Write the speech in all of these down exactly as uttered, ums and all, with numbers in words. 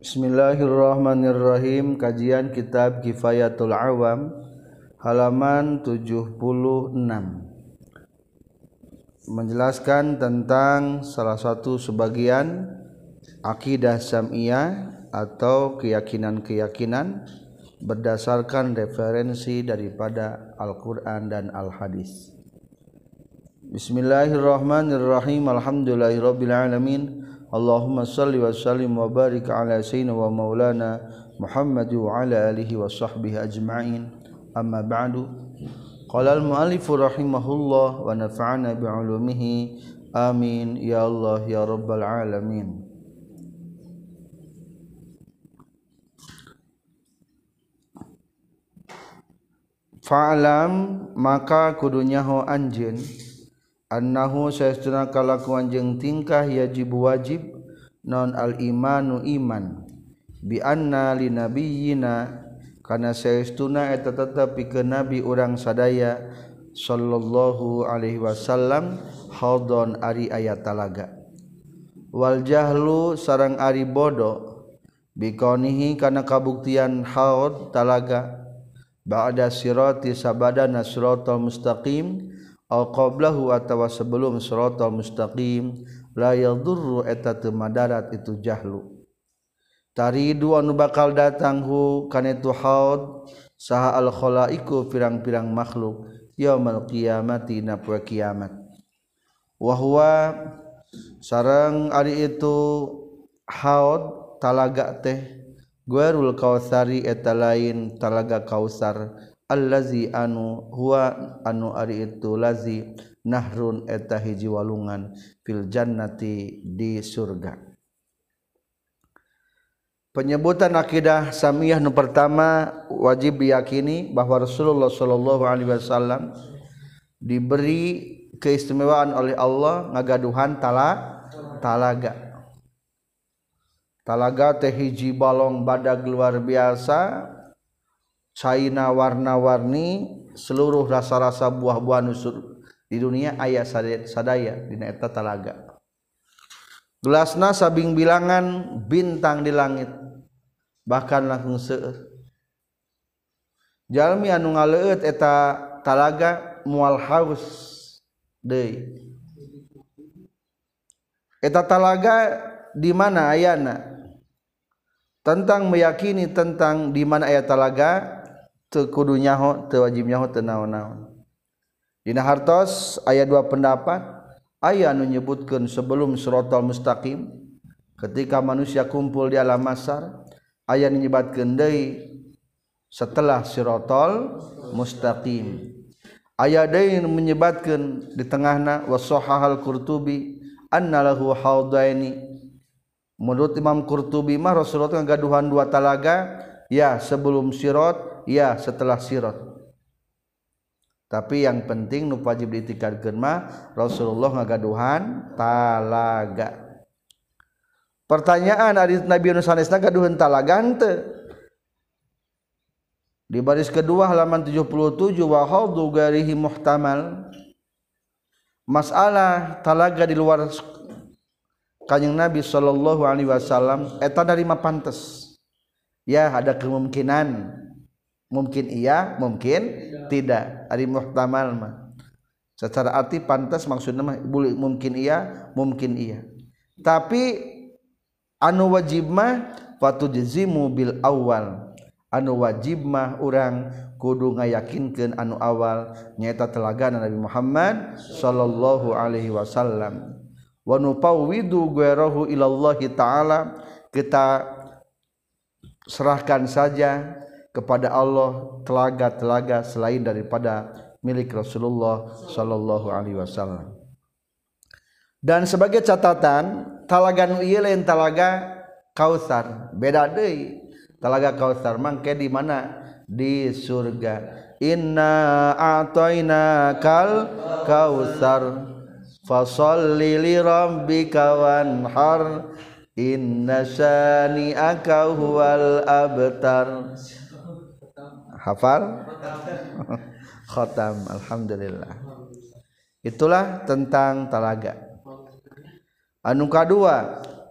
Bismillahirrahmanirrahim. Kajian kitab Kifayatul Awam halaman tujuh puluh enam menjelaskan tentang salah satu sebagian akidah Sam'iyah atau keyakinan-keyakinan berdasarkan referensi daripada Al-Quran dan Al-Hadis. Bismillahirrahmanirrahim. Alhamdulillahirabbil alamin. Allahumma salli wa sallim wa barik ala sayyidina wa maulana Muhammad wa ala alihi wa sahbihi ajma'in. Amma ba'du. Qala al-mu'allif rahimahullah wa nafa'ana bi'ulumihi. Amin ya Allah ya rabbal alamin. Fa'lam maka kudunya ho anjeun annahu saestuna kalakuan jeung tingkah yajib wajib non al imanu iman bi anna li nabiyyina kana saestuna eta tetep pikeun nabi urang sadaya sallallahu alaihi wasallam haudon ari aya talaga wal jahlu sareng ari bodo bi kaunihi kana kabuktian haud talaga ba'da sirati sabadana siratal mustaqim aw qablahu atawa sebelum siratal mustaqim la yadurru eta teu madarat itu jahlu taridu anu bakal datang hu kana itu haud saha al khalaiqu pirang-pirang makhluk yaumul qiyamati na poe kiamat wa huwa sareng ari itu haud talaga teh Guarul Kautsari eta lain talaga Kautsar allazi anu huwa anu ari itu lazi nahrun eta hiji walungan fil jannati di surga. Penyebutan akidah Sam'iyah nu pertama wajib diyakini bahwa Rasulullah sallallahu alaihi wasallam diberi keistimewaan oleh Allah ngagaduhan tala talaga. Talaga teh hiji balong badag luar biasa, caina warna-warni, seluruh rasa-rasa buah-buahan di dunia aya sadaya dina eta talaga. Gelasna sabing bilangan bintang di langit, bahkan langsung seueur. Jalmi anu ngaleueut eta talaga moal haus deui. Eta talaga di mana ayana? Tentang meyakini tentang di mana aya talaga teu kudu nyaho teu wajib nyaho teu naon-naon. Dina hartos aya dua pendapat, aya anu nyebutkeun sebelum siratal mustaqim ketika manusia kumpul di alam mahsyar, aya nu nyebatkeun deui setelah siratal mustaqim. Aya deui nu menyebatkeun di tengahna wasahahal Qurtubi annalahu haudaini. Menurut Imam Qurtubi mah Rasulullah ngagaduhan dua talaga, ya sebelum sirat, ya setelah sirat. Tapi yang penting nu wajib diitikadkeun mah Rasulullah ngagaduhan talaga. Pertanyaan ari Nabi anu sanesna gaduhan talaga henteu. Di baris kedua halaman tujuh puluh tujuh wa haudu garihi muhtamal. Masalah talaga di luar Kanjeng Nabi sallallahu alaihi wasallam eta dari mah pantes. Ya ada kemungkinan. Mungkin iya, mungkin tidak. Ari muhtamal mah. Secara arti pantas maksudna mah mungkin iya, mungkin iya. Tapi anu wajib mah fatujzimu bil awal. Anu wajib mah urang kudu ngayakinkeun anu awal nyaeta telagana Nabi Muhammad sallallahu alaihi wasallam. Wa nupawwidu ghayrahu ilallahi ta'ala, kita serahkan saja kepada Allah telaga-telaga selain daripada milik Rasulullah sallallahu alaihi wasallam. Dan sebagai catatan, talaga nu ieu lain talaga Kautsar, beda deui. Talaga Kautsar mangke di mana? Di surga. Inna a'tainakal kautsar fasalli li rabbika wanhar inna syani'aka huwal abtar. Hafal? Khatam. Alhamdulillah. Itulah tentang talaga. Anu kadua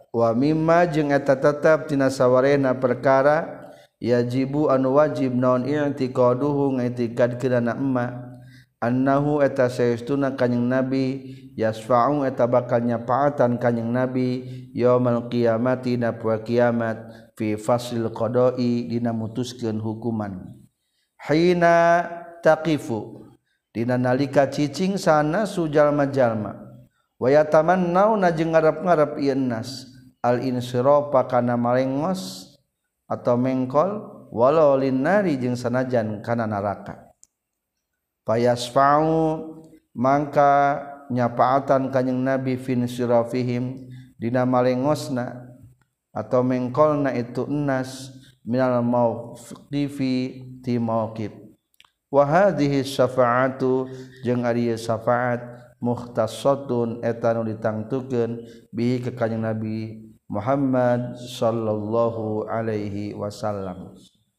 wa mimma jeung eta tetep tina sawarena perkara yajibu anu wajib naon i'tiqaduhu ngaitikadkeun emma annahu eta saestuna kanjing nabi yasfa'u eta bakal nyafaatan kanjing nabi yaumul qiyamati dina poe kiamat fi fasil qada'i dina mutuskeun hukuman hina taqifu dina nalika cicing sana sujalma-jalma wa yatamannauna jeung ngarep-ngarep ieu nas al insirafa kana malengos atau mengkol walau linnari jeung sanajan kana neraka payasfa'u mangka nyapaatan kanjing nabi fin sirafihim dina malengosna atau mengkolna itu enas minal mauqifi ti mauqif wa hadhihi syafa'atu jeung ari syafaat mukhtassatun eta nu ditangtukeun bihi ka kanjing nabi Muhammad sallallahu alaihi wasallam.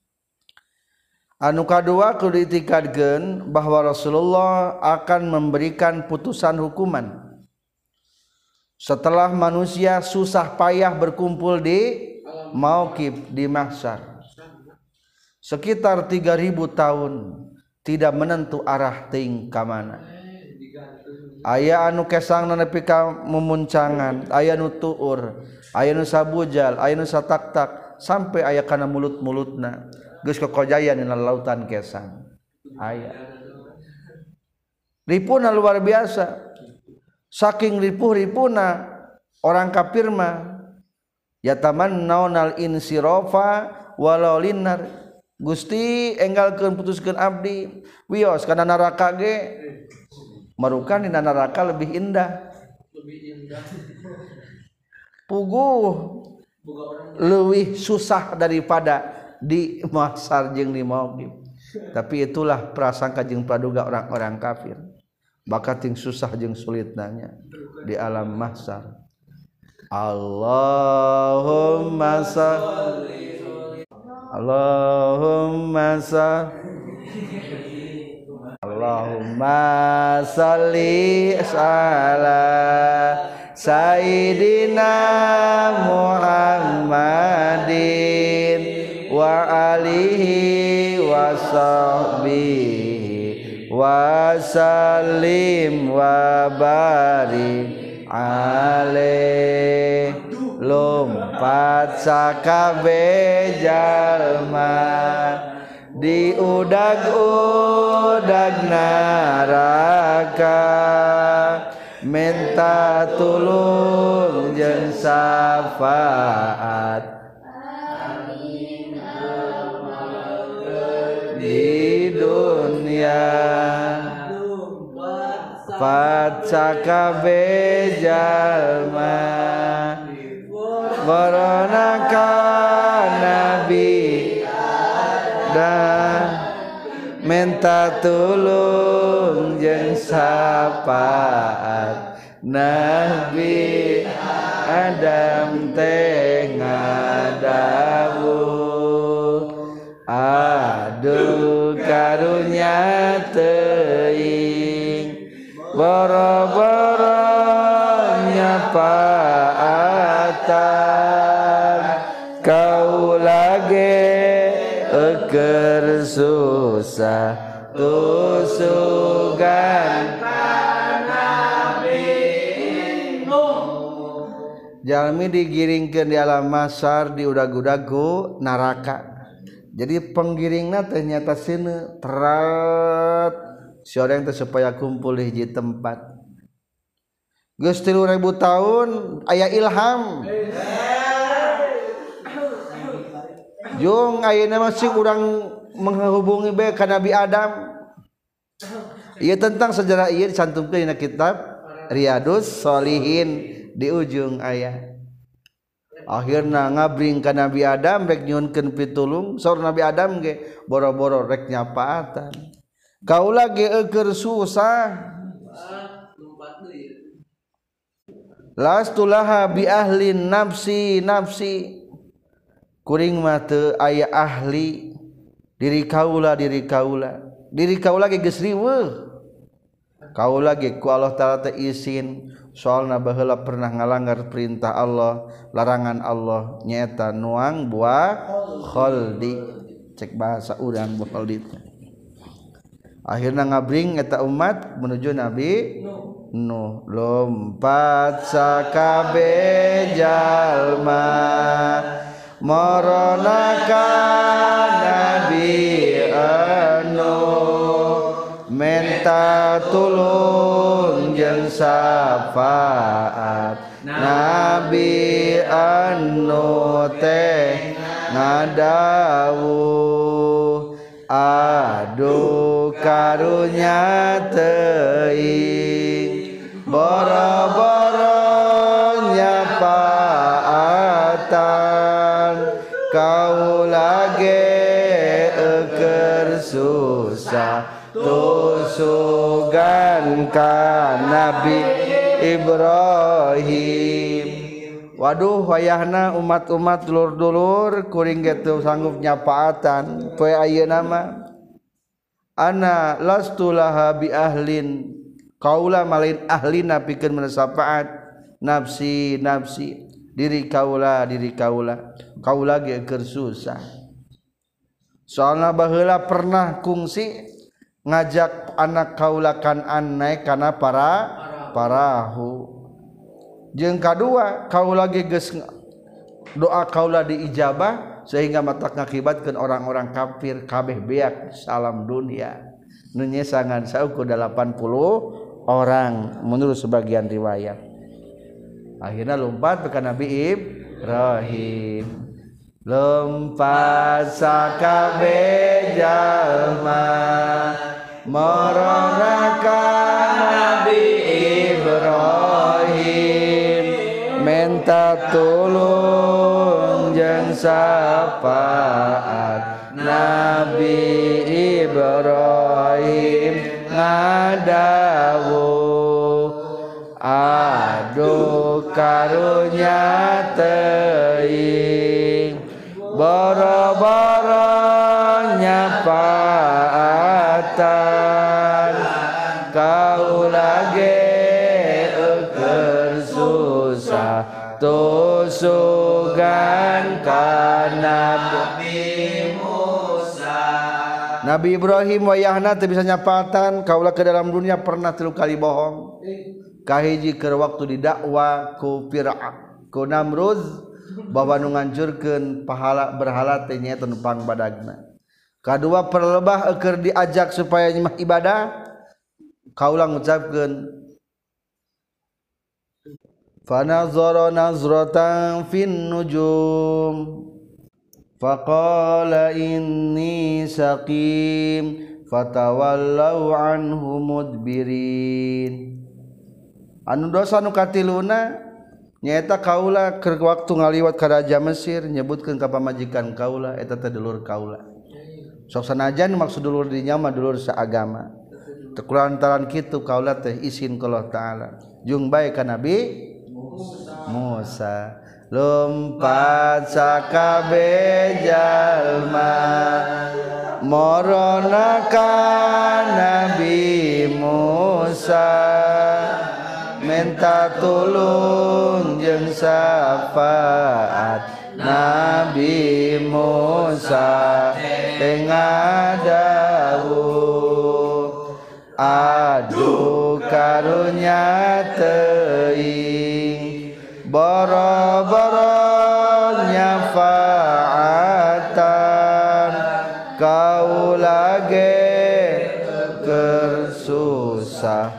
Anu kadua kudu diitikadkeun bahwa Rasulullah akan memberikan putusan hukuman setelah manusia susah payah berkumpul di mauqif di mahsyar sekitar tiga ribu tahun tidak menentu arah teuing ka mana. Aya anu kesangna nepi ka memuncangan, aya nu tuur, aya nu sabujal, aya nu satak-tak sampai aya kana mulut-mulutna geus kokojayan dina lautan kesang. Aya. Ripuna luar biasa. Saking ripuh-ripuna orang kafir mah yatamannaunal insirafa walau linnar. Gusti enggalkeun putuskeun abdi wios kana neraka ge marukan dina neraka lebih indah. Lebih indah. Puguh leuwih susah daripada di mahsyar jeung di mauqif. Tapi itulah prasangka jeung praduga orang-orang kafir. Bakal ting susah jeung sulitnanya di alam mahsyar. Allahumma shalli Allahumma shalli Allahumma shalli ala Sayyidina Muhammadin wa alihi wa sahbihi wa sallim wa barik alaih. Lompat sakabe jalma di udag-udag neraka minta tulung jeung syafaat di dunia pacakabe jalma baronaka nabi dan minta tulung jeung syafaat Nabi Adam teh ngadawuh aduh karunya teuing boro-boro nyafaatan kaula ge eukeun susah tusugan jalmi digiringkeun di alam mahsyar di udag-udagu neraka. Jadi penggiringna teh nyata sini terat si orang teh supaya kumpul di hiji tempat. Geus tilu ribu tahun aya ilham. Jung ayeuna masih urang menghubungi bae ka Nabi Adam. Ieu tentang sejarah ieu dicantumkeun dina kitab Riyadus Shalihin. Di ujung ayat akhirna ngabring ka Nabi Adam rek nyuhunkeun pitulung saur Nabi Adam ge boro-boro rek nyapaatan kaula ge eukeun susah lastulaha bi ahli nafsi nafsi kuring mah teu aya ahli diri kaula diri kaula diri kaula ge geus riweuh kaula ge ku Allah taala teh izin soalna baheula pernah ngalanggar perintah Allah larangan Allah nyaeta nuang buah kholdi cek bahasa urang buah kholdi akhirna ngabring eta umat menuju Nabi Nuh lompat sakabeh jalma marana ka Nabi Nuh menta tulung jeung syafaat Nabi Nuh teh ngadawuh aduh karunya teuing boro-boro nyapaatan kaula ge eukeur susah tusugan ka Nabi Ibrahim. Waduh wayahna umat-umat dulur-dulur kuring ge teu sanggup nyapaatan poe ayeuna mah ana lastu laha bi ahlin kaula malain ahlina pikeun menesapaat nafsi nafsi diri kaula diri kaula kaula ge keur susah soalna baheula pernah kungsi ngajak anak kaula Kan'an naik kana para parahu jeung kadua kaula ge geus doa kaula diijabah sehingga matak ngakibatkeun orang-orang kafir kabeh beak salam dunia nu nyesangan sauku delapan puluh orang menurut sebagian riwayat akhirnya lompat ke Nabi Ibrahim lompat sakabeh jalma marana ka Nabi Ibrahim menta tulung jeung syafaat Nabi Ibrahim ngadawuh aduh karunya teuing boro-boro nyapaatan kaula ge eukeur susah tusugan ka Nabi Musa. Nabi Ibrahim wayahna teu bisa nyapaatan kaula ke dalam dunia pernah tilu kali bohong kahiji keur waktu didakwa ku Fir'aun ku Namrud bahwa nu nganjurkeun pahala berhala teh nyaeta numpang badagna kadua perlebah keur diajak supaya nyembah ibadah kaula ngucapkeun fanazara nazratan fin nujum faqala inni saqim fatawallau anhu mudbirin anu dosa nu katiluna nyaeta kaula keur waktu ngaliwat ka raja Mesir nyebutkeun ka pamajikan kaula eta teh dulur kaula sok sanajan maksud dulur dinya mah dulur saagama teu kulantaran kitu kaula teh izin ka Allah taala jeung bae ka Nabi Musa lompat sakabeh jalma marana ka Nabi Musa menta tulung jeung syafaat Nabi Musa teh ngadawuh aduh karunya teuing boro-boro nyafaatan kaula ge keur susah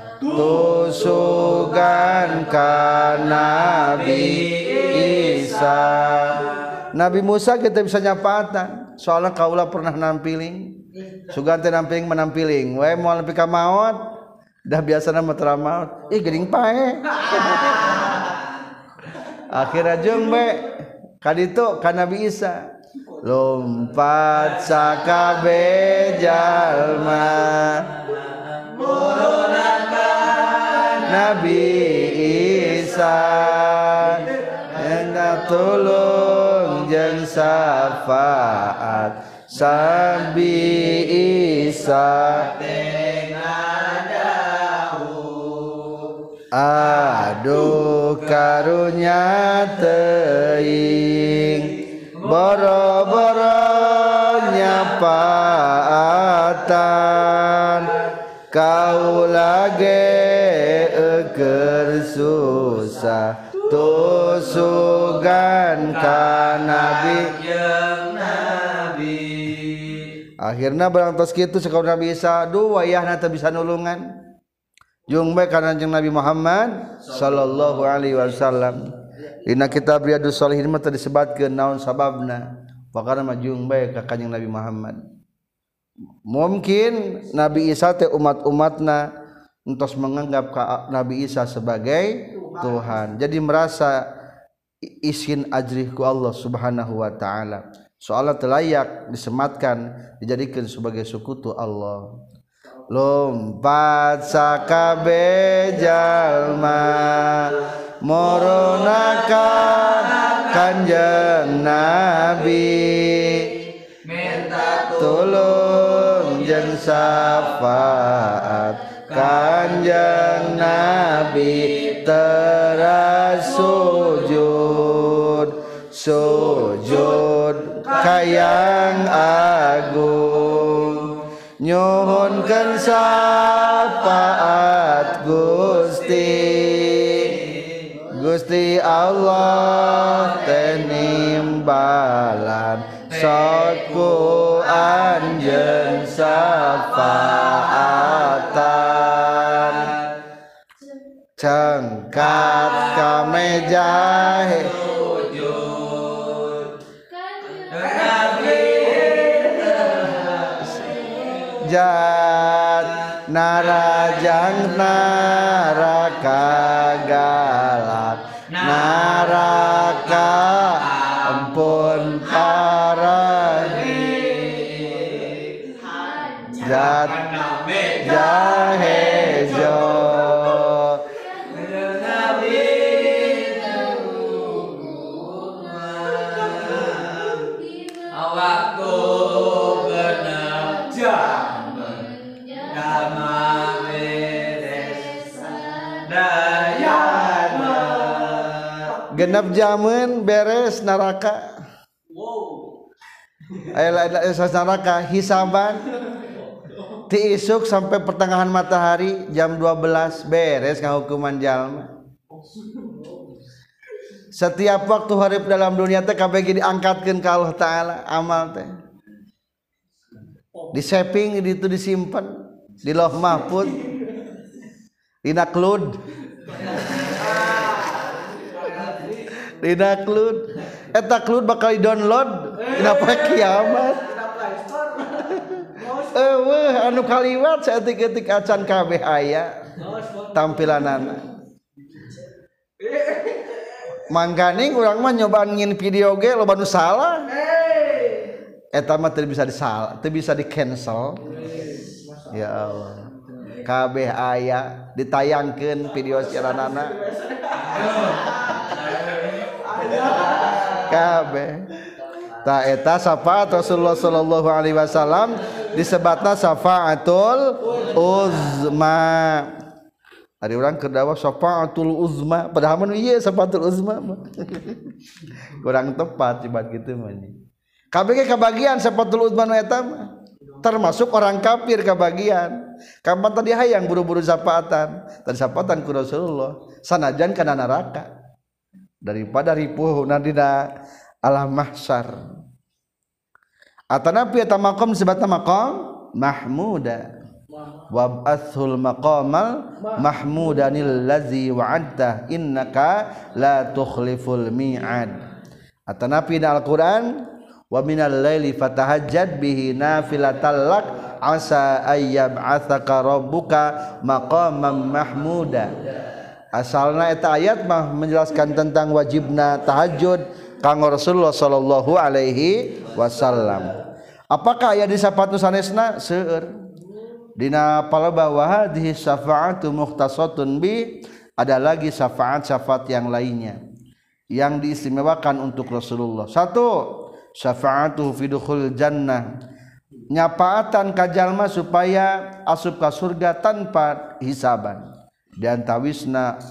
tusugan ka Nabi Isa. Nabi Musa kita bisa nyapaatan soalnya kaula pernah nampiling sugan teh nampiling menampiling we moal nepi ka maot dah biasana mah teu maot ih geuning pae akhirnya jeung be kaditu ka Nabi Isa lompat sakabeh jalma Nabi Isa hendak tulung jeung syafaat Sabi Isa teh ngadawuh duh karunya teuing boro-boro nyapaatan kaula ge eukeun susah tusugan ka nabi jeung nabi. Akhirna barang tos kitu sakaur Nabi Isa duh wayahna teu bisa nulungan jeung bae kana jeung Nabi Muhammad sallallahu alaihi wasallam. Dina kitab Riyadhus Shalihin mah teu disebutkeun naon sababna pakana mah jeung bae ka kanjing Nabi Muhammad. Mungkin Nabi Isa teh umat-umatna entos menganggap Nabi Isa sebagai Tuhan, jadi merasa isin ajrih ku Allah subhanahu wa ta'ala, soalnya telayak disematkan dijadikan sebagai sekutu Allah. Lompat sakabe jalma moronaka kanjeng Nabi minta tulung jeung syafaat kanjeng Nabi teras sujud sujud kayang agung nyuhunkeun syafaat Gusti Gusti Allah teh nimbalan sotku anjeun syafaatan cengkat ka meja sujud Nabi jat narajang naraka galak naraka ampun parani jat jahejo genep jamun beres neraka. Wow. Aya neraka hisaban ti isuk sampai pertengahan matahari jam dua belas beres ngahukuman jalma. Setiap waktu hareup dalam dunia teh kabeh diangkatkeun ka Allah taala amal teh. Di saving di itu disimpan di Lauh Mahfuz. Dina cloud. Dina cloud eta cloud bakal di-download dina poe kiamat. Eueuh anu kaliwat saeutik-eutik acan kabeh aya tampilanana. Mangganing urang mah nyobaan ngin video ge loba nu salah. Eta mah teu bisa disal, teu bisa di cancel. Ya Allah. Kabeh aya ditayangkeun video siaranana. Kabeh ta eta syafaat Rasulullah sallallahu alaihi wasallam disebutna syafaatul uzma. Ari urang keur dawuh syafaatul uzma padahal mah ieu syafaatul uzma kurang tepat cibad kitu mah. Kabeh ge kabagian syafaatul uzma nu eta mah termasuk orang kafir kabagian. Kapan tadi hayang buru-buru syafaatan tadi syafaatan ku Rasulullah sanajan kana neraka daripada ripuh dina alam mahsyar. Atanapi eta maqam disebutna maqam mahmuda wab'athul maqamal mahmudanil ladzi wa'adta innaka la tukhliful mi'ad. Atanapi dina Al-Qur'an wa minal laili fatahajjad bihi nafilatan lak asa ayyab'atsaka rabbuka maqaman mahmuda. Asalna eta ayat mah menjelaskan tentang wajibna tahajud kanggo Rasulullah sallallahu alaihi wasallam. Apakah aya di syafaat sanesna? Seueur. Dina palaba wa hadhihi syafaatu mukhtasatun bi, ada lagi syafaat-syafaat yang lainnya yang diistimewakan untuk Rasulullah. Satu, syafaatu fi dukhul jannah. Nyapaatan ka jalma supaya asup ka surga tanpa hisaban. Dan tawisna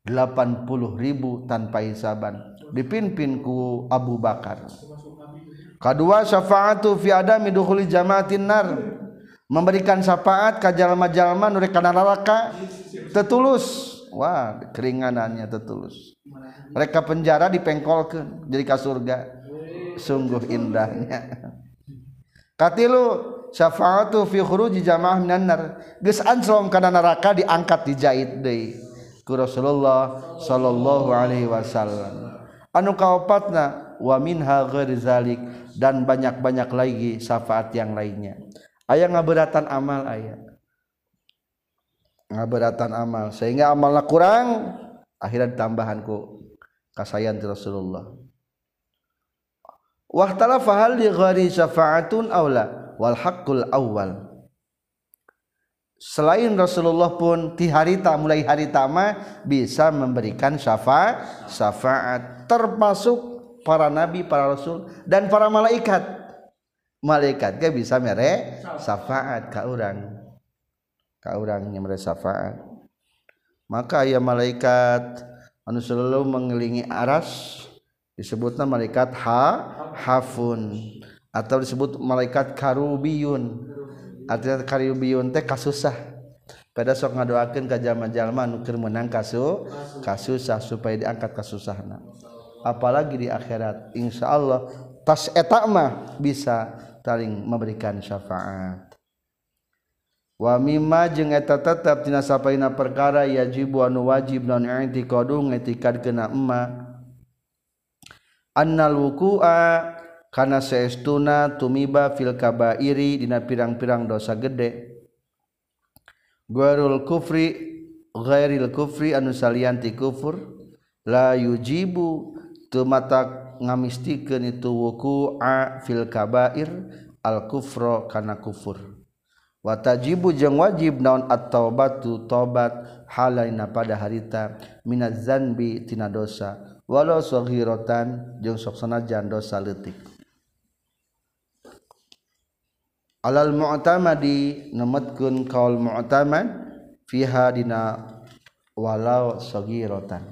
delapan puluh ribu tanpa hisaban dipimpin ku Abu Bakar. Kedua syafaatu fi adami dukhuli jamaatin nar memberikan syafaat ka jalma-jalma nu rek kana neraka tetulus. Wah keringanannya tetulus rek ka penjara dipengkolkeun jadi ka surga sungguh indahnya. Katilu syafaatu fi khuruji jamaah minan nar geus anjlom kana neraka diangkat dijait deui ku Rasulullah sallallahu alaihi wasallam. Anu kaopatna wa minha ghairi zalik dan banyak-banyak lagi syafaat yang lainnya. Aya ngabeuratan amal aya. Ngabeuratan amal sehingga amalna kurang akhirnya ditambahan ku kasayan ti Rasulullah. Wahtalafa hal li ghairi syafaatun aula wal haqqul awwal. Selain Rasulullah pun ti harita mulai harita mah bisa memberikan syafaat syafaat termasuk para nabi, para rasul dan para malaikat. Malaikat ge bisa mere syafaat ka urang. Ka urang nya mere syafaat. Maka aya malaikat anu selalu mengelilingi aras disebutna malaikat ha hafun atau disebut malaikat karubiyun. Artinya karubiyun teh kasusah. Pada sok ngadoakeun ka jalma-jalma anu keur meunang kasu kasusah supaya diangkat kasusahna. Apalagi di akhirat insyaallah tas eta mah bisa taling memberikan syafaat. Wa mimma jeung eta tetep tina sapaina perkara yajibu anu wajib naon i'tiqadu ngitikadeuna emma annal wuqu'a kana saestuna tumiba fil kabairi dina pirang-pirang dosa gede ghairul kufri ghairil kufri anu salianti kufur la yujibu teu mata ngamistikeun itu wuqu'a fil kabair al kufra kana kufur wa tajibu jeung wajib naon at-taubatu tobat halaina pada harita minaz zanbi tina dosa walau saghiratan jeung sok sanajan dosa leutik. Alal mu'tamadi nemetkeun kaul mu'tamad fiha dina walau saghiratan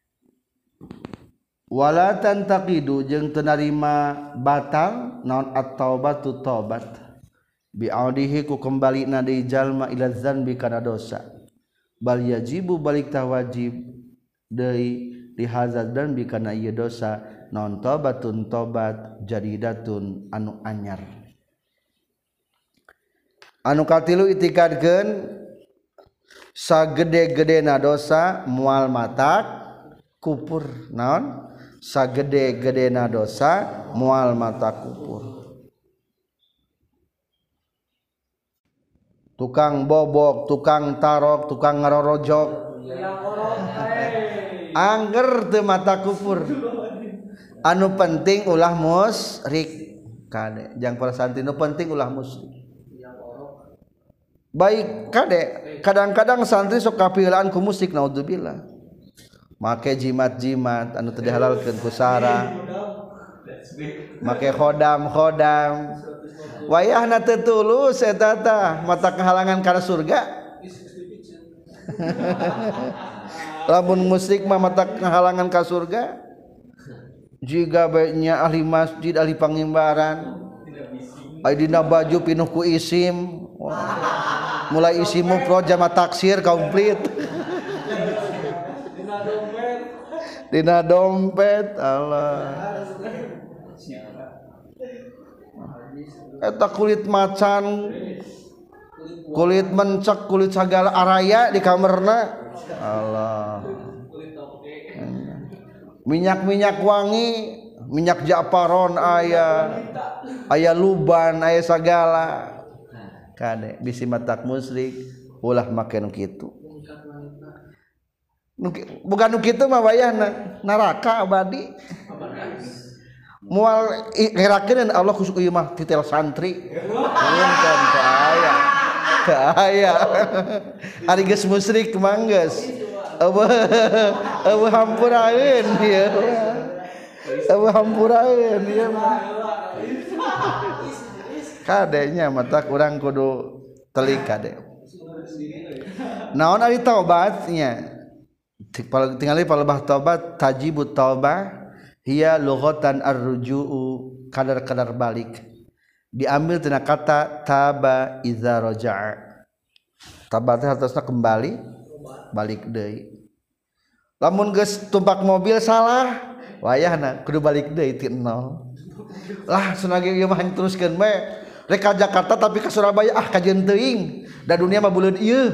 wala tantaqidu jeung teu narima batal naon at-taubatu taubat bi'audihi ku kambalina deui jalma ila dzanbi kana dosa bal yajibu balik tah wajib deui di hazard dan bikana ieu dosa naon taubatun taubat jadidatun anu anyar. Anu katilu itikadkeun sagede-gedena dosa moal matak kupur naon sagede-gedena dosa moal matak kupur. Tukang bobok, tukang tarok, tukang ngarorojok angger teu mata kufur. Anu penting ulah musyrik kade jang para santri nu penting ulah musyrik. Baik kade kadang-kadang santri sok kapieulaan ku musik naudzubillah make jimat-jimat anu teu dihalalkeun ku sara make khodam-khodam wayahna teu tulus eta tah mata kehalangan kana surga. Lamun musik mah mata kehalangan ka surga jiga baiknya ahli masjid ahli pangimbaran dina baju pinuh ku isim. Wah. Mulai isimu pro jama taksir komplit dina dompet Allah eta kulit macan kulit mencek kulit segala araya di kamarna Allah minyak-minyak wangi minyak japaron aya aya luban aya sagala kade bisi matak musyrik ulah make nu kitu bukan nu kitu mah wayahna neraka abadi moal ngerakeun Allah kusuk ieu mah titel santri punten teu aya teu aya ari geus musyrik mah geus eueuh eueuh hampuraeun ieu eueuh hampuraeun ieu mah kadenya mata kurang kudu telik kade naon ari taubatnya tinggali palebah taubat tajibut taubah hiya lughatan ar-ruju'u kadar-kadar balik diambil tina kata taba iza raja'a taba teh hartosna kembali balik deui lamun geus tumpak mobil salah wayahna kudu balik deui ti nol lah sunage ieu mah teruskeun we rek ka Jakarta tapi ka Surabaya ah kajeun teuing da dunia mah buleud ieu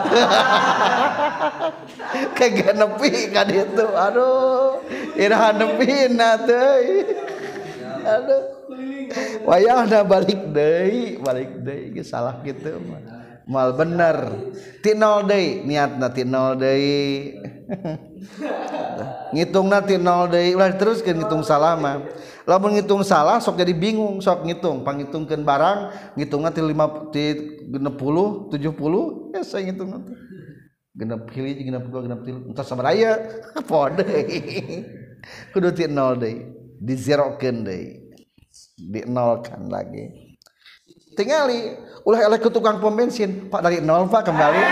kagak nepi ka ditu aduh iraha nepina teh aduh wayahna balik deui balik deui geus salah kitu mah mal bener ti nol deui niatna ti nol deui ngitungna ti nol deui ulah teruskeun ngitung salah mah lamun ngitung salah sok jadi bingung sok ngitung pangitungkeun barang ngitungna ti lima ti genep puluh tujuh puluh ya saya ngitung nanti genep hiji genep dua genep tilu entos sabaraha pode kudu ti nol deui di zerokeun deui di nolkan lagi tingali ulah eleh ke tukang pom bensin Pak dari nol Pak kembali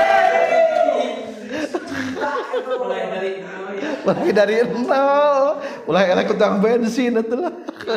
lagi dari nol ulah eleh ke tukang bensin atulah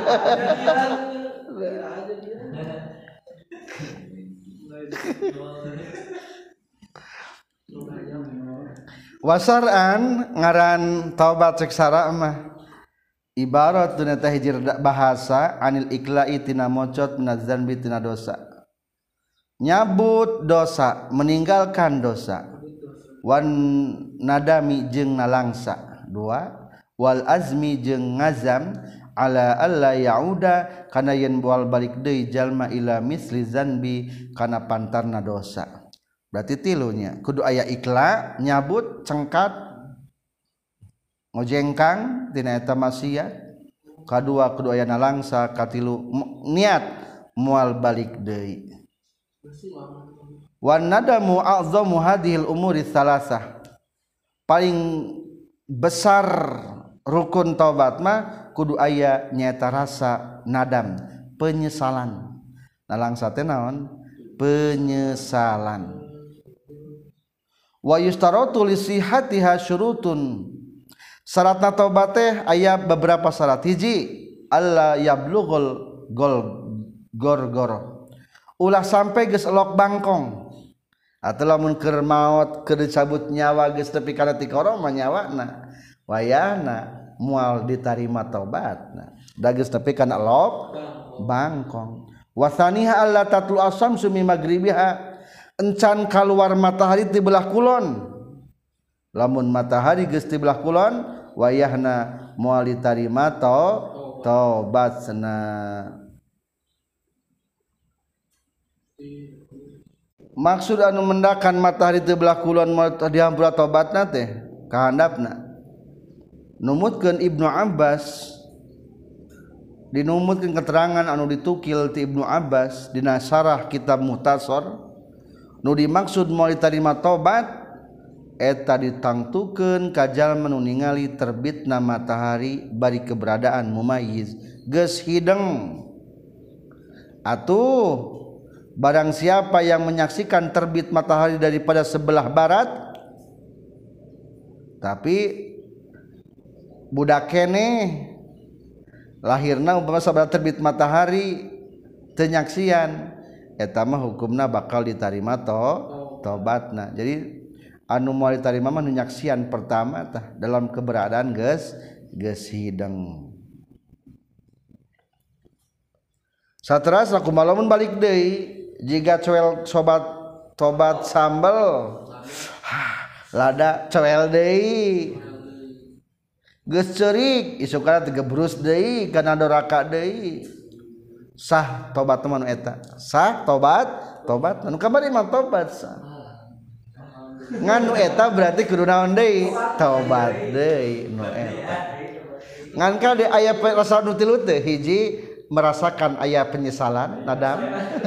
wasaran ngaran taubat cek sara mah ibarat duna teh hiji bahasa anil ikla'i tina mocot minaz zanbi tina dosa nyabut dosa meninggalkan dosa wan nadami jeung nalangsa dua wal azmi jeung ngazam ala alla yauda kana yen boal balik deui jalma ila misli zanbi kana pantarna dosa berarti tilunya kudu aya ikla nyabut cengkat ngojengkang tina eta maksiat kadua kudu aya nalangsa katilu niat moal balik deui wan nadamu a'zamu hadhil umuri salasah paling besar rukun taubat mah kudu aya nyaeta rasa nadam penyesalan nalangsa teh naon penyesalan wa yustaratu li sihhatiha syurutun syaratna taubat teh aya beberapa syarat hiji alla yablughul gol gor-gor ulah sampai geus elok bangkong atawa lamun keur maot keur dicabut nyawa geus tepi kana ti korong mah nyawana wayahna moal ditarima taubatna da geus tepi kana elok bangkong wasaniha alla tatlu asamsu mi magribiha encan kaluar matahari ti belah kulon lamun matahari geus ti belah kulon wayahna moal ditarima taubatna maksud anu mendakan matahari ti belah kulon moal dihampura taubatna teh kahandapna numutkeun Ibnu Abbas dinumutkeun keterangan anu ditukil ti Ibnu Abbas dina syarah kitab Muhtasar nu dimaksud moal ditarima taubat eta ditangtukeun ka jalma nu ningali terbitna matahari bari keberadaan mumayyiz geus hideng atuh barang siapa yang menyaksikan terbit matahari daripada sebelah barat tapi budak keneh lahirna umpama sabaraha terbit matahari teu nyaksian eta mah hukumna bakal ditarima to tobatna jadi anu moal ditarima mah nu nyaksian pertama tah dalam keberadaan geus geus hideng sateras kumaha lamun balik deui jika coel sobat tobat sambel lada coel deui geus ceurik isukana teu gebrus deui kana doraka deui sah tobat teman eta sah tobat tobat nu kamari mah tobat sah ngan nu eta berarti kudu naon deui tobat deui nu eta ngan ka de aya rasa nu tilu teh hiji merasakan aya penyesalan nadam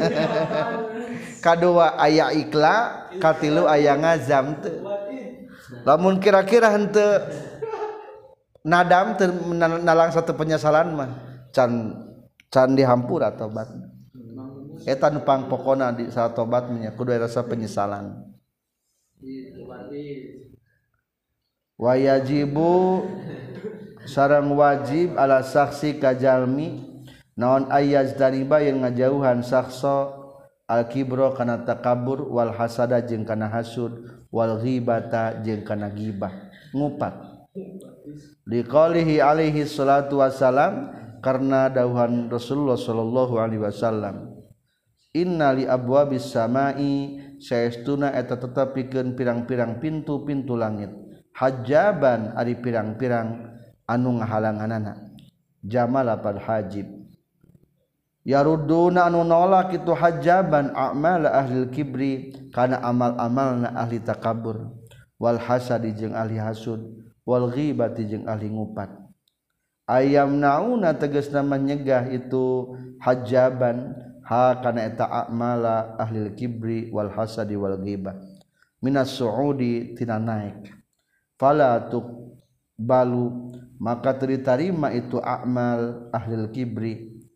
kadua aya ikla katilu aya ngazam teu lamun kira-kira henteu nadam teu nalang satu penyesalan mah can can dihampura tobat eta nu pangpokona di saat tobat nya kudu rasa penyesalan wa yajibu sareng wajib ala saksi kajalmi naon ayaz dariba yang ngajauhan sakso al kibro kana takabur wal hasada jeung kana hasud wal ghibata jeung kana ghibah ngupat liqaulihi alaihi salatu wassalam karena dawuhan Rasulullah sallallahu alaihi wasallam inna li abwabis samai saestuna eta tetepikeun pirang-pirang pintu-pintu langit hajaban ari pirang-pirang anu ngahalanganana jamala pad hajib yaruduna anu nolak itu hajaban a'mal ahli kibri kana amal-amalna ahli takabur wal hasadi jeung ahli hasud wal ghibati jeung ahli ngupat ayam nauna tegasna menyegah itu hajaban ha kana eta a'mala ahli kibri wal hasadi wal ghibah minas suudi tina naik fala tuqbalu maka diterima itu a'mal ahli kibri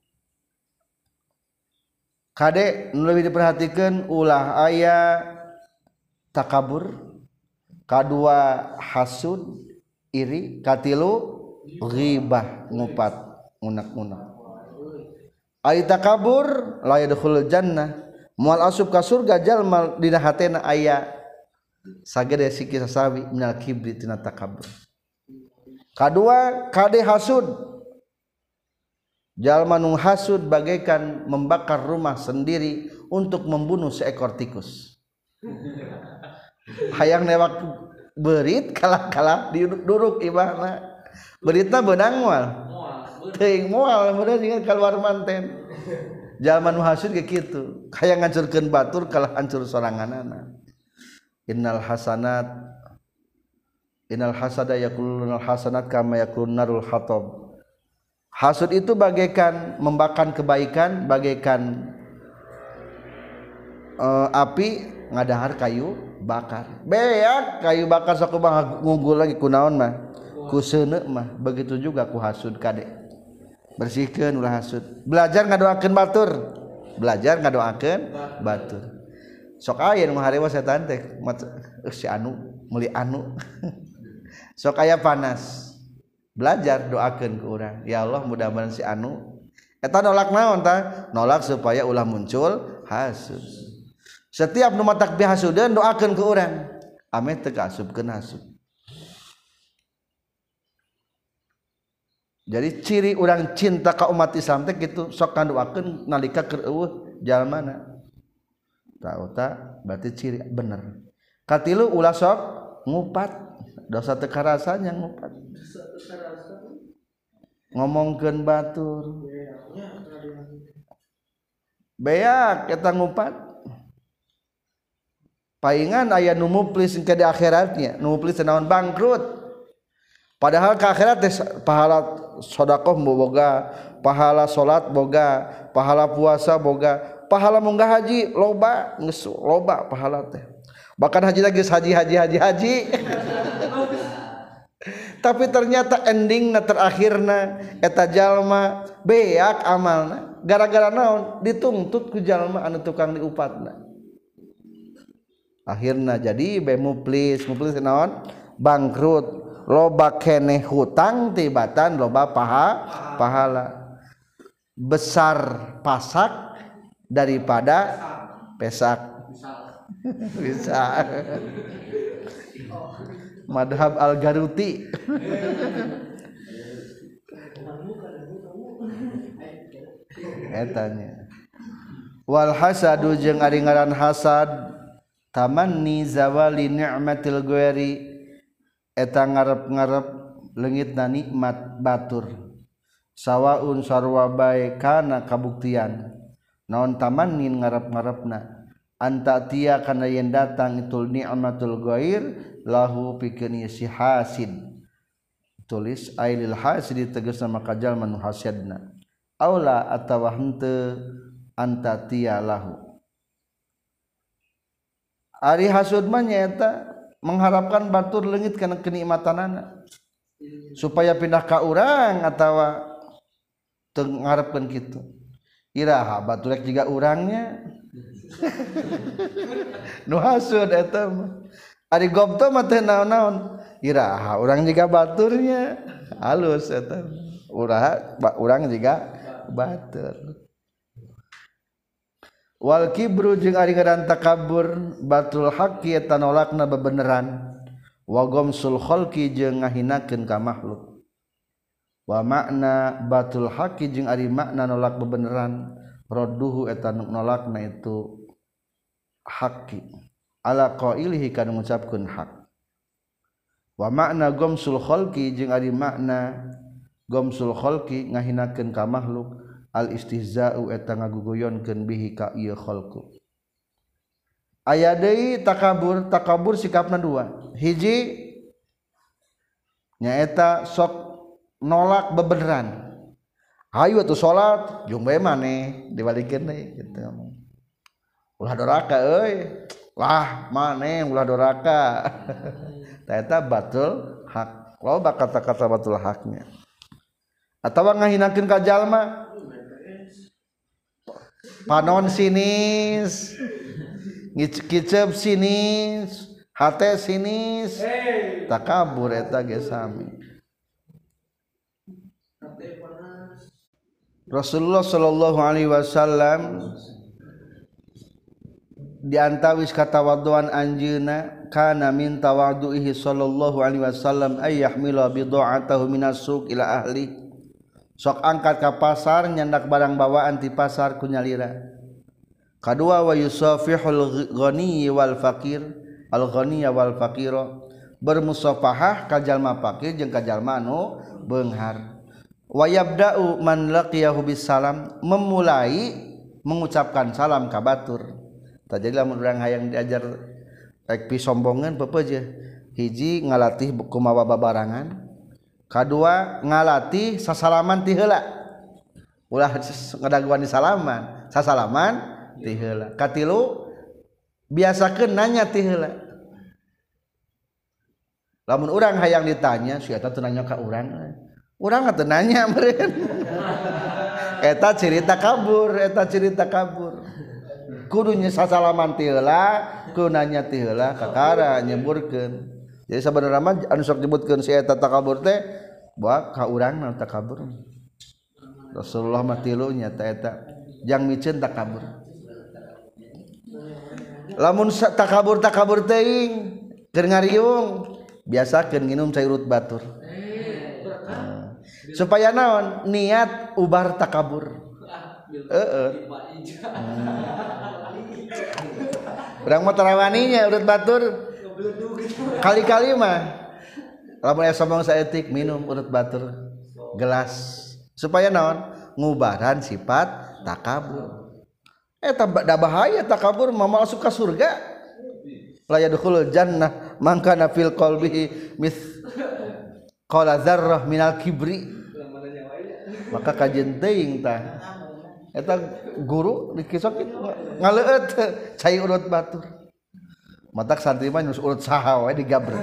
kade nu leuwih diperhatikeun ulah aya takabur kadua hasud iri katilu ghibah ngupat ngunak-ngunak ai takabur la yadkhulul jannah moal asup ka surga jalma dina hatena aya sagede siki sasawi minal kibri tina takabur kadua kade hasud jalma nu hasud bagaikan membakar rumah sendiri untuk membunuh seekor tikus hayang newak berit kalah-kalah duduk ibahna beritna beunang moal teuing moal bener jeung keluar manten jalma nu hasud ge kitu hayang ngancurkeun batur kalah hancur soranganana innal hasanat innal hasada yakulunal hasanat kama yakulun narul hatab hasud itu bagaikan membakar kebaikan bagaikan uh, api ngadahar kayu bakar beak kayu bakar sok mah ngunggul lagi ku naon mah ku seuneu mah begitu juga ku hasud kade bersihkeun ulah hasud belajar ngadoakeun batur belajar ngadoakeun batur sok aya nu harewa setan teh si anu meuli anu sok aya panas belajar doakeun ke urang ya Allah mudah-mudahan si anu eta nolak naon tah nolak supaya ulah muncul hasud setiap nu matak bihasudeun doakeun ke urang ame teu kaasupkeun hasud jadi ciri urang cinta ka umat Islam teh kitu sok kandoakeun nalika keur eueuh jalmana tah eta berarti ciri bener katilu ulah sok ngupat dosa teu karasanya ngupat ngomongkeun batur beak eta ngupat paingan aya nu muplis ke di akhiratnya nu muplis naon bangkrut padahal ke akhirat teh pahala sedekah boga pahala salat boga pahala puasa boga pahala munggah haji loba geus loba pahala teh bahkan haji lagi haji haji haji haji tapi ternyata endingna terakhirna eta jalma beak amalna gara-gara naon dituntut ku jalma anu tukang diupatna akhirna jadi be muplis muplis naon bangkrut loba keneh hutang tibatan loba paha pahala besar pasak daripada pesak bisa madhab al-Garuti etanya wal hasadu jeung ari ngaran hasad tamanni zawali ni'matil ghairi eta ngarep-ngarep leungitna nikmat batur sawaun sarwa bae kana kabuktian naon tamanni ngarep-ngarepna anta tia kana yen datang itu ni'matul ghair lahu pikeun si hasid tulis ailil hasid tegasna maka jalma nu hasidna aula atawa henteu anta tia lahu ari hasud mah nyaeta mengharapkan batur leungit kana kenikmatanana supaya pindah ka urang atawa teu ngarepkeun kitu iraha batur rek jiga urangnya nu hasud eta mah ari gobto mah teh naon-naon iraha urang jiga baturnya halus eta uraha urang jiga batur wal kibru jeung ari ngaran takabur batul haqqi eta nolakna bebeneran wa gomsul khalqi jeung ngahinakeun ka makhluk wa makna batul haqqi jeung ari makna nolak bebeneran radduhu eta nolakna itu haqqi ala qailihi kana ngucapkeun hak wa makna gomsul khalqi jeung ari makna gomsul khalqi ngahinakeun ka makhluk al istihza'u eta ngagugoyonkeun bihi ka ieu khalqu aya deui takabur takabur sikapna dua hiji nyaeta sok nolak bebeneran hayu atuh salat jeung bae maneh dibalikeun deui kitu ulah doraka euy lah maneh ulah doraka eta batul hak loba kata-kata batul haknya atawa ngahinakeun ka jalma panon sinis ngicep sinis hate sinis takabur eta ge sami Rasulullah sallallahu alaihi wasallam di antawis katawaduan anjeuna kana min tawadu'ihi sallallahu alaihi wasallam ay yahmila bid'atahu minas suq ila ahli sok angkat ka pasar nyandak barang bawaan ti pasar ku nyalira kadua wa yusafihul ghani wal faqir al ghani wal faqira bermusafahah ka jalma fakir jeung ka jalma anu beunghar wa yabda'u man laqiyahu bisalam memulai mengucapkan salam ka batur. Jadi lamun urang hayang diajar rek pi sombongan pepeje hiji ngalatih kumaha babarangan kadua ngalatih sasalaman ti heula ulah ngadaguan di salaman sasalaman ti heula katilu biasakeun nanya ti heula lamun urang hayang ditanya si eta teu nanya ka urang urang teu nanya meureun eta ciri takabur eta ciri takabur kudunya sasalaman ti heula kunanya ti heula kakara nyemburkeun jadi sabenerna mah anu sok disebutkeun si eta takabur teh bae ka urangna takabur Rasulullah mah tilunya ta eta jang miceun takabur lamun takabur takabur teuing keur ngariung biasakeun nginum cai urut batur nah, supaya naon niat ubar takabur heeh urang mah tarawaninya urut batur kali-kali mah lamun aya sombong saeutik minum urut batur gelas supaya naon ngubaran sifat takabur eta da bahaya takabur mah masuk ka surga la yadkhulul jannah man kana fil qalbihi mis qala dzarrah minal kibri maka kajeun teuing tah eta guru dikisok ngaleueut cai urut batur matak santri mah nyus urut saha wae digabret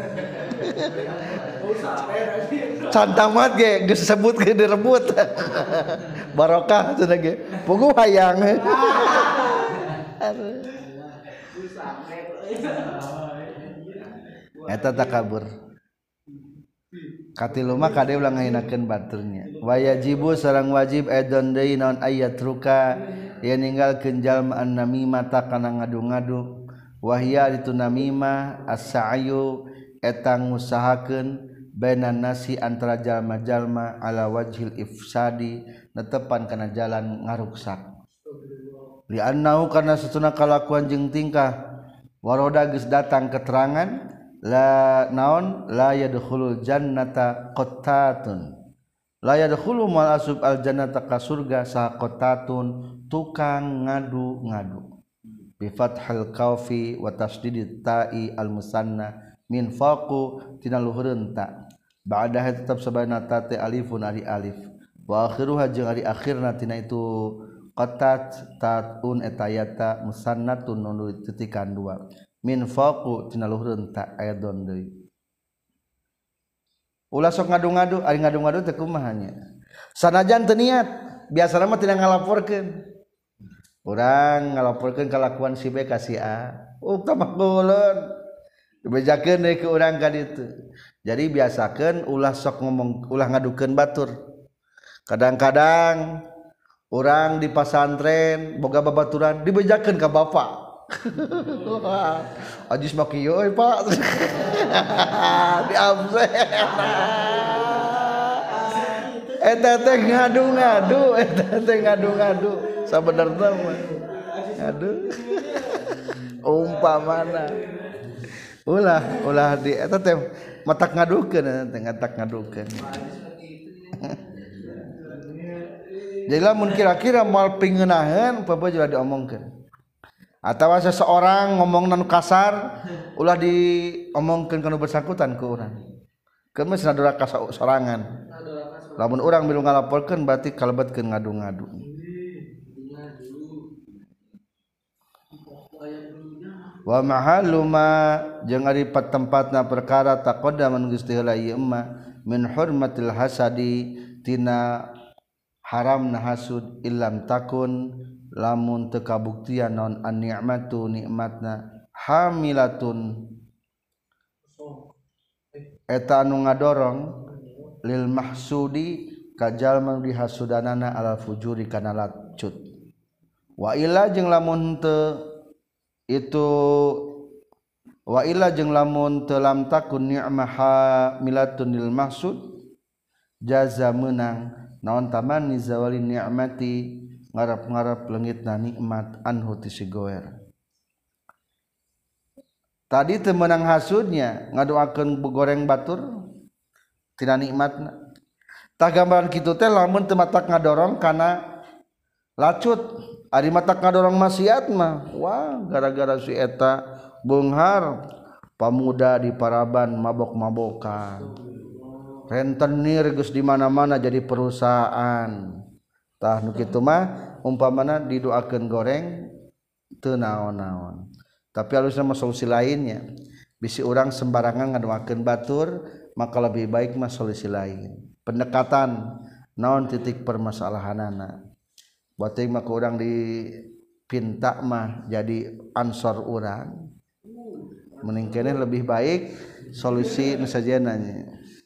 cantamat ge geus disebutkeun direbut barokah cenah ge puguh hayang eta takabur katilu mah kade ulah ngahinakeun baturnya wayajibu sareng wajib edon deui naon ayat ruka ya ninggalkeun jalma an namimah ta kana ngadu-ngadu wahya itu namimah as-sa'yu eta ngusahakeun bainan nasi antara jalma-jalma ala wajhil ifsadi netepan kana jalan ngaruksak li annahu kana satuna kalakuan jeung tingkah waroda geus datang keterangan la naon la yadkhulul jannata qattatun la yadkhulu mal asub al jannata ka surga sa qattatun tukang ngadu-ngadu bi fathil qafi wa tasdidit ta'i al musanna min faqu tina luhureun ta ba'da tetap sabana ta te alifun ari alif wa akhiruha jeung ari akhirna tina itu qattat taun etayata musannatun nu titikan dua min faqu tina luhureun ta aidon deui ulah sok ngadu-ngadu ari ngadu-ngadu teh kumaha nya sanajan teu niat biasana mah tina ngalaporkeun urang ngalaporkeun kalakuan si B ka si A uh tamah geuleun dibejakeun deui ke urang ka ditu. Jadi biasakeun ulah sok ngomong ulah ngadukeun batur. Kadang-kadang urang di pesantren boga babaturan dibejakeun ka bapak. Ajis mah kieu euy Pak. Di absen. Eta teh ngadu-ngadu, eta teh ngadu-ngadu. Sabenerna mah. Aduh. Umpamana. Ulah, ulah di eta teh matak ngadukeun, teh ngatak ngadukeun. Jadi lamun kira-kira moal pingeunahkeun apa juga diomongkeun. Atawa seseorang ngomong nu kasar ulah diomongkeun kana bersangkutan ku urang. Keun mah sadora kasar sorangan. Lamun urang milu ngalaporkeun berarti kalebetkeun ngadu-ngadu. Wa mahallu ma jeung ari tempatna perkara taqaddama geus teu heula ieu mah min hurmatil hasadi tina haramna hasud illam takun lamun teu kabuktian naon an ni'matu nikmatna hamilatun eta anu ngadorong lil mahsudi ka jalma dihasudanana alal fujuri kana lacut wa illa jeung lamun teu itu wa illa jeung lamun teu lam takun ni'mah hamilatun lil mahsud jaza meunang naon tamanni zawali ni'mati ngarap-ngarap leungitna nikmat anhu ti si goer. Tadi teu meunang hasudnya ngadoakeun goreng batur tina nikmatna. Tah gambaran kitu teh lamun teu matak ngadorong kana lacut, ari matak ngadorong maksiat mah wah gara-gara si eta beunghar pamuda di Paraban mabok-mabokan. Rentenir geus di mana-mana jadi perusahaan. Tah nu kitu mah umpamana didoakeun goreng teu naon-naon. Tapi halusna mah solusi lainnya. Bisi urang sembarangan ngadoakeun batur, maka lebih baik mah solusi lain. Pendekatan naon titik permasalahanana. Beuteung mah ku urang dipinta mah jadi ansor urang. Mending keneh lebih baik solusi nu sajana nya.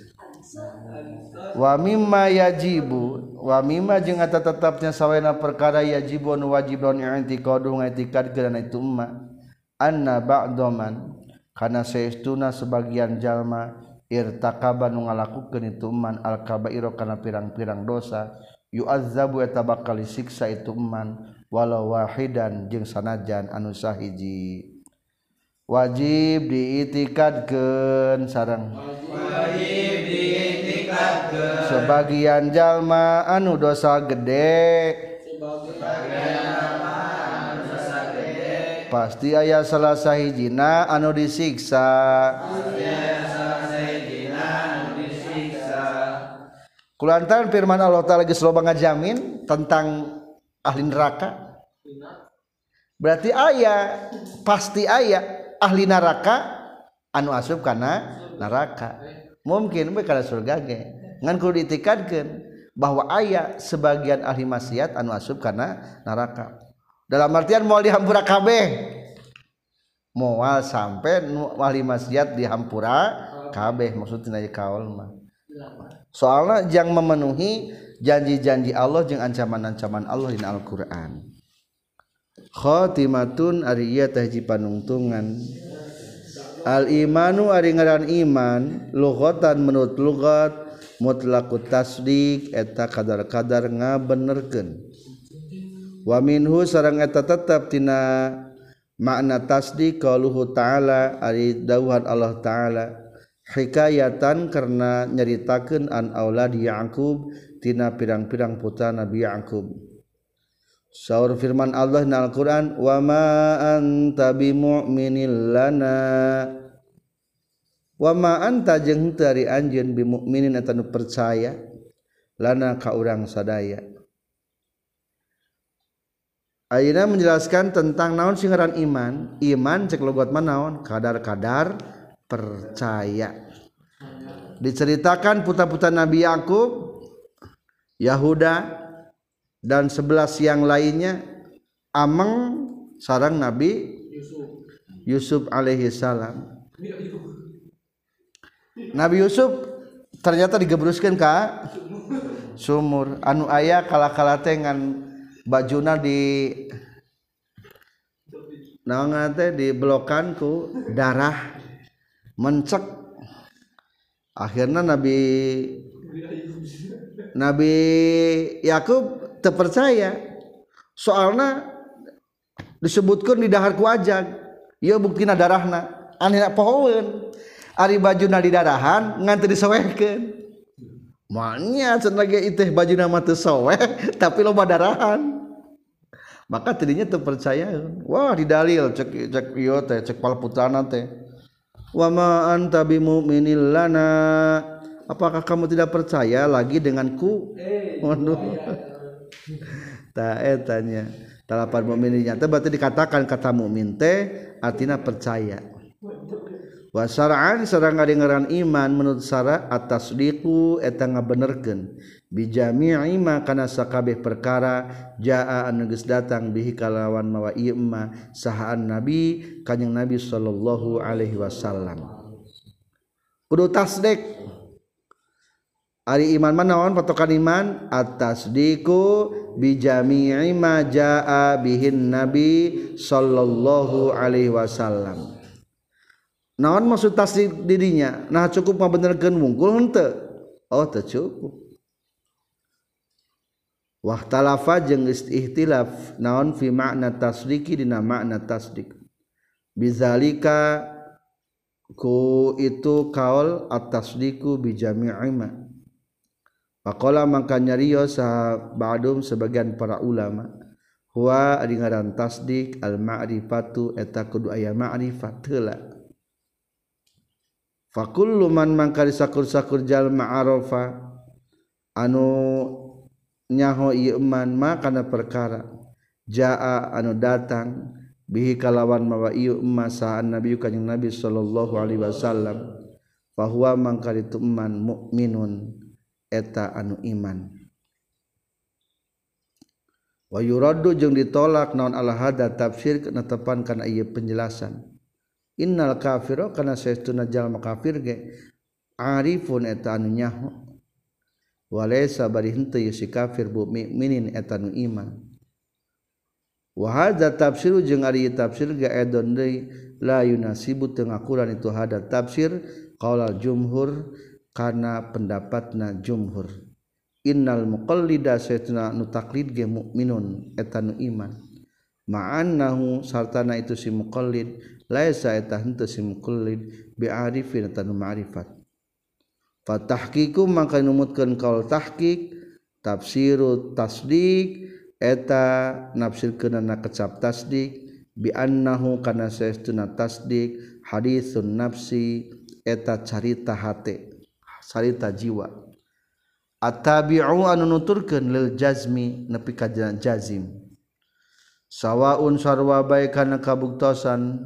Wa mimma yajibu wa mimma jeung eta tetepnya sawaina perkara yajibu anu wajib naon i'tiqadu ngaitikadkeun itu umma anna ba'daman kana saestuna sebagian jalma irtakaba nu ngalakukeun itu umman al kabaira kana pirang-pirang dosa yu'azzabu eta bakal disiksa itu umman walau wahidan jeung sanajan anu sahiji wajib diitikadkeun sareng wajib diitikadkeun sebagian jalma anu dosa gede sebagian jalma anu dosa gede pasti aya salah sahijina anu disiksa pasti aya salah sahijina anu disiksa kulantaran firman Allah Taala geus loba ngajamin tentang ahli neraka berarti aya pasti aya ahli neraka anu asup kana neraka mungkin we kana surga ge ngan kudu diitikadkeun bahwa aya sebagian ahli maksiat anu asup kana neraka dalam artian moal dihampura kabeh moal sampai nu ahli maksiat dihampura kabeh maksudna ieu kaul mah soalna jang memenuhi janji-janji Allah jeung ancaman-ancaman Allah dina Al-Qur'an. Khatimatun ari ieu teh hiji panungtungan al imanu ari ngaran iman lughatan menurut lughat mutlaqut tasdiq eta kadar-kadar ngabenerkeun wa minhu sareng eta tetep tina makna tasdiq qauluhu ta'ala ari dawuhan Allah ta'ala hikayatan karena nyaritakeun an auladi Yaqub tina pirang-pirang putra Nabi Yaqub. Saur firman Allah na Al-Quran wa ma anta bimu'minin lana wa ma anta jeung teu ari anjeun bimu'minin eta nu percaya lana ka urang sadaya. Ayeuna menjelaskan tentang naon sing ngaran iman. Iman cek logat mah naon? Kadar-kadar percaya. Diceritakan putra-putra Nabi Yaqub, Yahuda dan sebelas yang lainnya ameng sareng Nabi Yusuf, Yusuf alaihi salam Nabi Yusuf ternyata digebruskeun ka sumur anu aya kala-kala teh ngan bajuna di naon teh dibelokan ku darah mencek. Akhirna Nabi Nabi Yakub teu percaya soalna disebutkeun di dahar ku ajag ieu buktina darahna anina pohoeun ari bajuna di darahan ngan teu disowehkeun manya cenah ge teh bajuna mah teu soweh tapi loba darahan maka tadinya teu percaya wah didalil cek cek ieu teh cek palputrana teh wa ma anta bimu'minil lana apakah kamu tidak percaya lagi denganku waduh tah etanya talapan mukminnya teh berarti dikatakan kata mukmin teh artina percaya wa syar'an sareng ngadengeran iman menurut syara at-tasdiqu eta ngabenerkeun bi jami'i ma kana sakabeh perkara jaa anu geus datang bihi kalawan mawa ieu ma sahaan nabi kanjing nabi sallallahu alaihi wasallam kudu tasdik ari iman mah naon patokan iman at-tasdiqu bi jami'i ma jaa bihin nabi sallallahu alaihi wasallam. Naon maksud tasdik dirinya? Nah cukup mah benerkeun wungkul henteu? Oh teu cukup. Wahtalafa jeung ihtilaf naon fi makna tasdiki dina makna tasdik. Bizalika ku itu kaul at-tasdiku bi jami'i ma. Faqala mangka nyarios sa ba'dum sebagian para ulama huwa ari ngaran tasdik al ma'rifatu eta kudu aya ma'rifat heula. Fakullu man mangka disakur-sakur jalma arafa anu nyaho ieu man ma kana perkara jaa anu datang bihi kalawan mawa ieu ma saan nabi kanjing nabi sallallahu alaihi wasallam fa huwa mangka ditu man mukminun eta anu iman wa yuraddu jeung ditolak naon ala hada tafsir netepan kana ieu penjelasan innal kafira kana saestuna jalma kafir ge arifun eta anu nyaho walaysa bari henteu si kafir bu mukminin eta anu iman wa hadza tafsiru jeung ari tafsir ge edon deui la yunasibu teu ngakuran itu hada tafsir qaulal jumhur kana pendapatna jumhur innal muqallida saestuna nu taklid ge mukminun eta anu iman ma'annahu sartana itu si muqallid laisa eta henteu si muqallid bi arifin eta nu ma'rifat fa tahqiqu mangka numutkeun kaul tahqiq tafsiru tasdiq eta nafsirkeunana kecap tasdiq bi annahu kana saestuna tasdiq haditsun nafsi eta carita hate carita jiwa at-tabi'u anu nuturkeun lil jazmi nepi ka jazim sawaun sarwa bae kana kabuktosan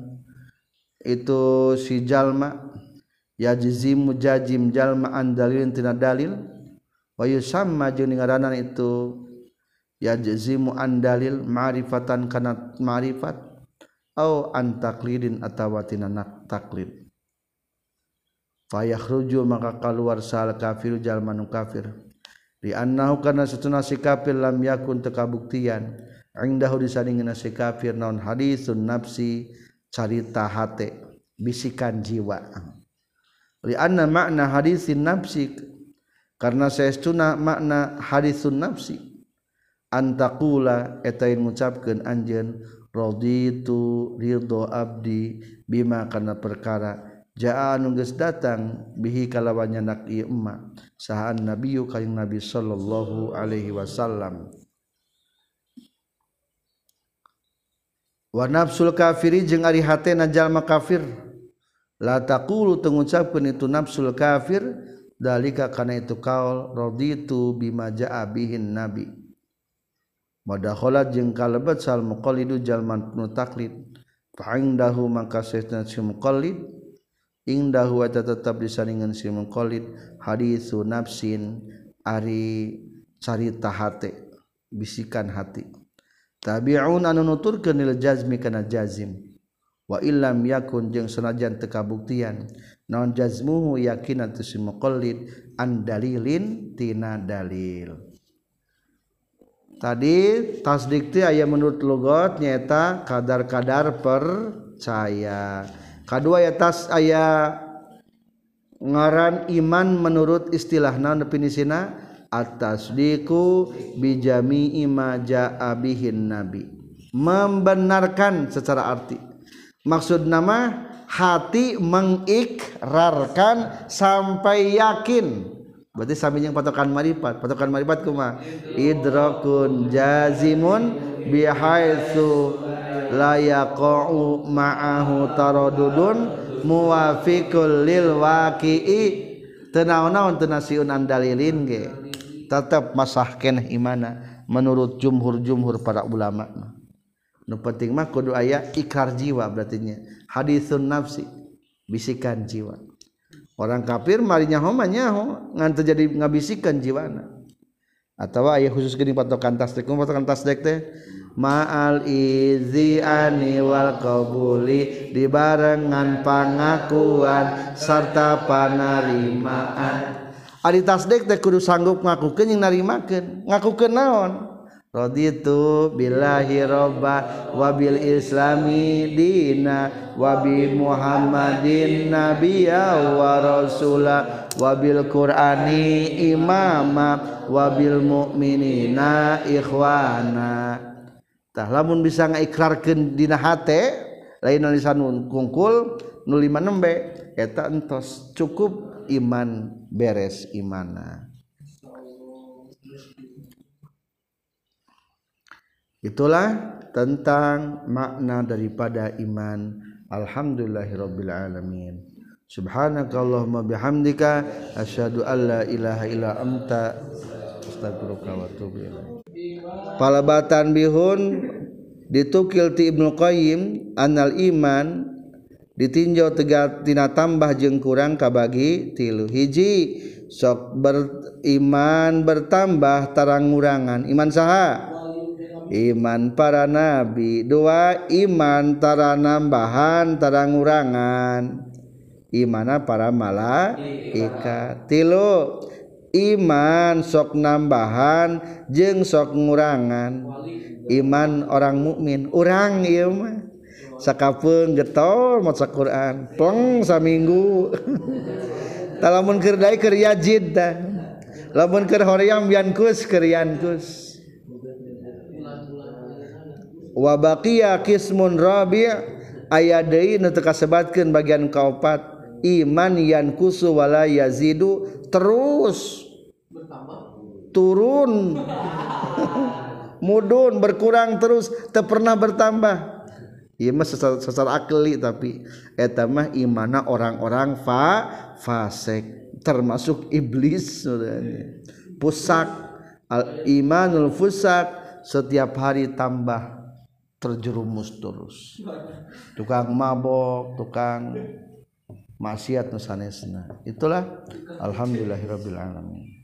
itu si jalma yajzimu jazim jalma an dalilin tina dalil wa yusamma jeung ngaranan itu yajzimu an dalil ma'rifatan kana ma'rifat au an taqlidin atawa tina taklid fa yakhruju maka kaluar sal kafir jalma nu kafir li annahu kana satuna si kafir lam yakun tekabuktian indahu disandingeuna si kafir naon haditsun nafsi carita hate bisikan jiwa li anna makna hadisin nafsi karena saestuna makna hadisun nafsi antaqula eta ngucapkeun anjeun raditu ridho abdi bima kana perkara jaa anu geus datang bihi kalawan nyanak ieu emma sahaan nabiyyu kanjing nabi sallallahu alaihi wasallam wa nafsul kafiri jeung ari hatena jalma kafir la taqulu tengucapkeun itu nafsul kafir dalika kana itu kaul raditu bima jaa bihin nabi madakhalat jeung kalebet sal muqallidu jalman nu taklid fa indahu maka saestuna si muqallid indahu wa tetap disandingan si muqallid haditsu nafsin ari carita hate bisikan hati tabi'un anu nuturkeun lil jazmi kana jazim wa illam yakun jeung sanajan teu kabuktian naon jazmuhu yakin atu si muqallid an dalilin tina dalil. Tadi tasdik teh aya menurut lugat nyaeta kadar-kadar percaya. Kadua ya tas aya ngaran iman menurut istilah naon definisina at-tasdiqu bi jami'i ma jaa bihin nabi. Membenarkan secara arti. Maksud nama hati mengikrarkan sampai yakin. Berarti sami jeung patokan marifat. Patokan marifat kumaha? Idrakun jazimun bihaitsu la yaqa'u ma'ahu taradudun muwafiqul lil waqi'i. Teu naon-naon teu nasiun an dalilin ge. Tetep masah keneh imana menurut jumhur-jumhur para ulama. Nu penting mah kudu aya ikrar jiwa berarti nya. Hadisun nafsi, bisikan jiwa. Orang kafir mari nyaho mah nyaho ngan teu jadi ngabisikan jiwana. Atawa aya khusus geuning patokan tasdik. Patokan tasdik teh ma'al iziani wal qabuli dibarengan pangakuan sarta panarimaan. Ari tasdik teh kudu sanggup ngakukeun jeung narimakeun. Ngakukeun naon? Raditu billahi robba wa bil islami dina wa bi muhammadin nabiyya wa rasula wa bil qur'ani imama wa bil mu'minina ikhwana. Tah lamun bisa ngaikrarkeun dina hate lain lisan kungkul nu lima nembe eta entos cukup iman beres imana. Itulah tentang makna daripada iman. Alhamdulillahirabbil alamin. Subhanakallahumma bihamdika asyhadu an la ilaha illa anta astaghfiruka wa atubu ilaik. Palabatan bihun ditukil ti Ibnu Qayyim anal iman ditinjau tegat tina tambah jeung kurang kabagi tilu. Hiji sok beriman bertambah tarang ngurangan. Iman saha? Iman para nabi. Dua iman tara nambahan tara ngurangan. Imana para malaikat. Tilu iman sok nambahan jeung sok ngurangan. Iman orang mukmin. Urang ieu mah sakapeung getol maca Quran pleng saminggu. Talamun keur dae keur yajid tah. Lamun keur hoream yankus keur yankus. Wa baqiya qismun rabi' aya deui nu teu kasebatkeun bagian kaopat iman yankusu wala yazidu terus turun mudun berkurang terus teu pernah bertambah. Ieu mah secara, secara akli tapi eta mah imana orang-orang fa fasik termasuk iblis sebenarnya. Pusak al imanul fusak setiap hari tambah terjerumus terus. Tukang mabok, tukang maksiat nu sanesna. Itulah alhamdulillahirabbil alamin.